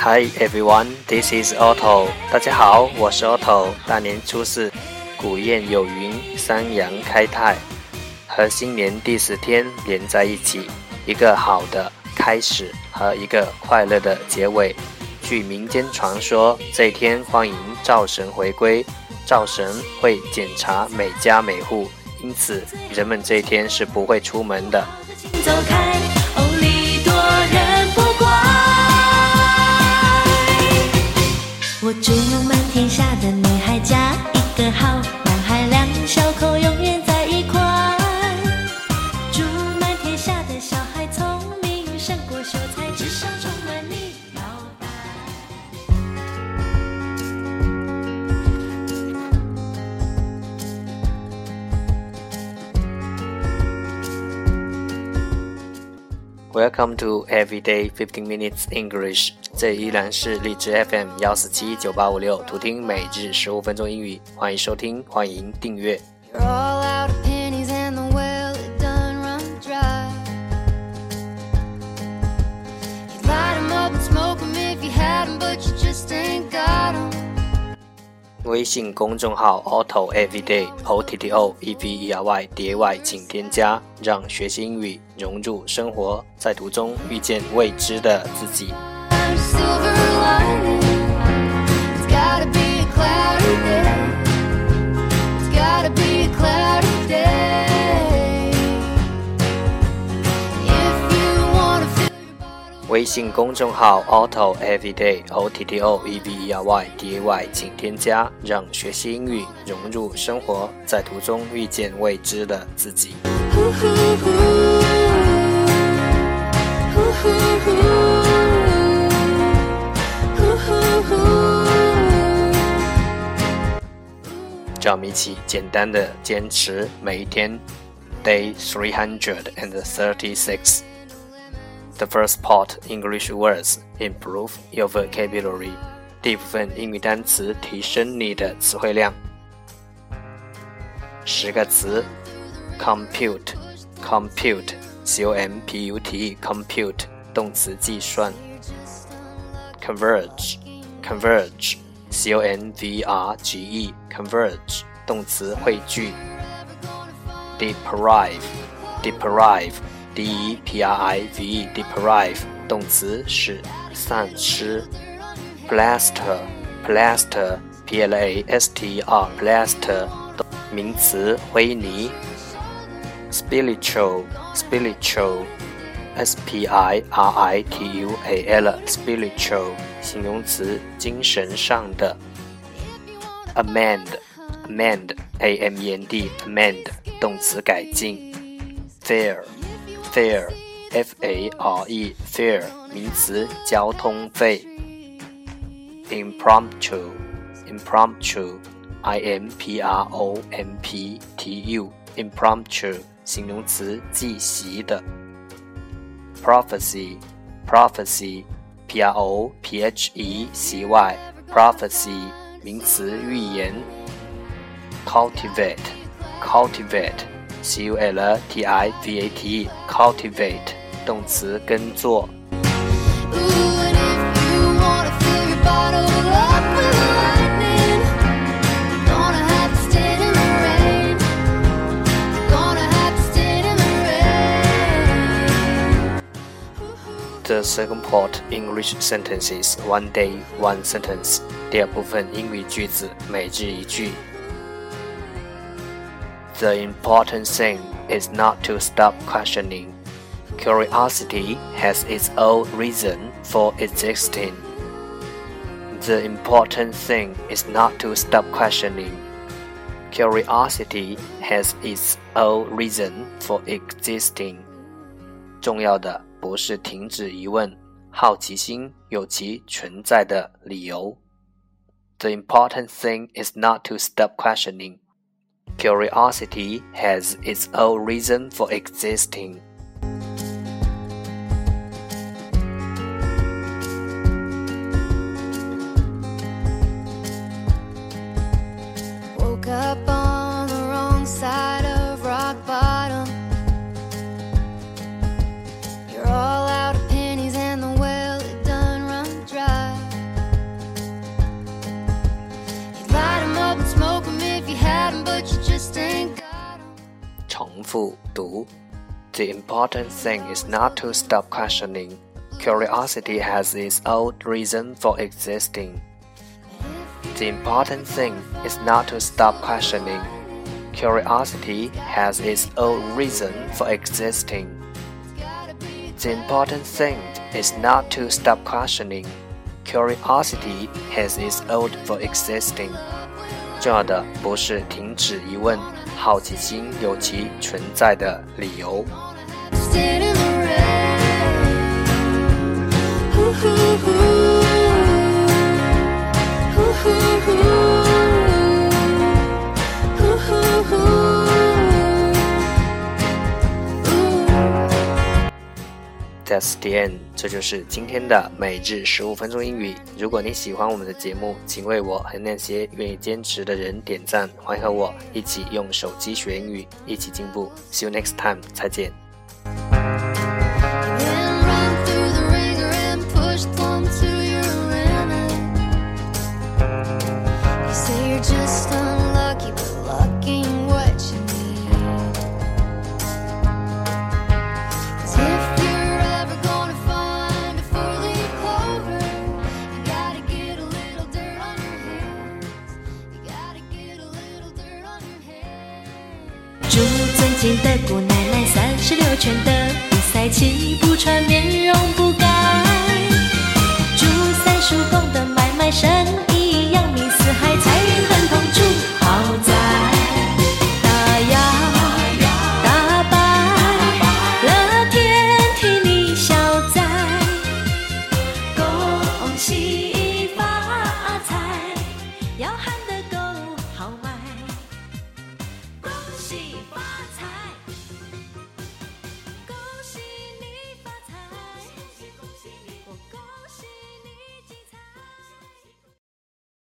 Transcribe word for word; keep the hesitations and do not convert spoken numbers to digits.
Hi everyone, this is Otto. 大家好，我是 Otto。大年初四，古谚有云，三阳开泰，和新年第十天连在一起，一个好的开始和一个快乐的结尾。据民间传说，这一天欢迎灶神回归，灶神会检查每家每户，因此人们这一天是不会出门的。 走开，哦，礼多人不怪。我祝满天下的女孩嫁一个好男孩，两小口永远在一块。祝满天下的小孩聪明胜过秀才，智商充满你脑袋。 Welcome to Everyday fifteen Minutes English， 这依然是荔枝 F M 一四七九八五六，图听每日十五分钟英语，欢迎收听，欢迎订阅。微信公众号 Otto Everyday O T T O E V E R Y D A Y 请添加，让学习英语融入生活，在途中遇见未知的自己。微信公众号 Otto Everyday O T T O E V E R Y D A Y 请添加，让学习英语融入生活，在途中遇见未知的自己。让我们一起简单的坚持每一天。Day three hundred thirty-six。The first part, English words, improve your vocabulary. 第一部分英语单词，提升你的词汇量。十个词 compute, compute, C O M P U T E, compute, 动词计算。converge, converge, C O N V R G E, converge, 动词汇聚。deprive, deprive, D E P R I V E, deprive, 动词使丧失。plaster, plaster, P L A S T E R, plaster, 名词灰泥。spiritual, spiritual, S P I R I T U A L, spiritual, 形容词精神上的。amend, amend, A M E N D, amend, 动词改进。fare,Fare, F A R E, fare, 名词交通费。Impromptu, impromptu, I M P R O M P T U, impromptu, 形容词即席的。Prophecy, prophecy, P R O P H E C Y, prophecy, 名词预言。Cultivate, cultivate,C U L T I V A T E, cultivate, 动词耕作。The second part, English sentences, one day, one sentence. 第二部分英语句子，每日一句。The important thing is not to stop questioning. Curiosity has its own reason for existing. The important thing is not to stop questioning. Curiosity has its own reason for existing. 重要的不是停止疑问，好奇心有其存在的理由。The important thing is not to stop questioning.Curiosity has its own reason for existing. Woke up on the wrong side of rock bottom. You're all out of pennies and the well it done run dry. 重复读。The important thing is not to stop questioning. Curiosity has its own reason for existing. The important thing is not to stop questioning. Curiosity has its own reason for existing. The important thing is not to stop questioning. Curiosity has its own for existing. 重要的不是停止疑问，好奇心有其存在的理由。That's the end， 这就是今天的每日十五分钟英语。如果你喜欢我们的节目，请为我和那些愿意坚持的人点赞，欢迎和我一起用手机学英语，一起进步。See you next time， 再见。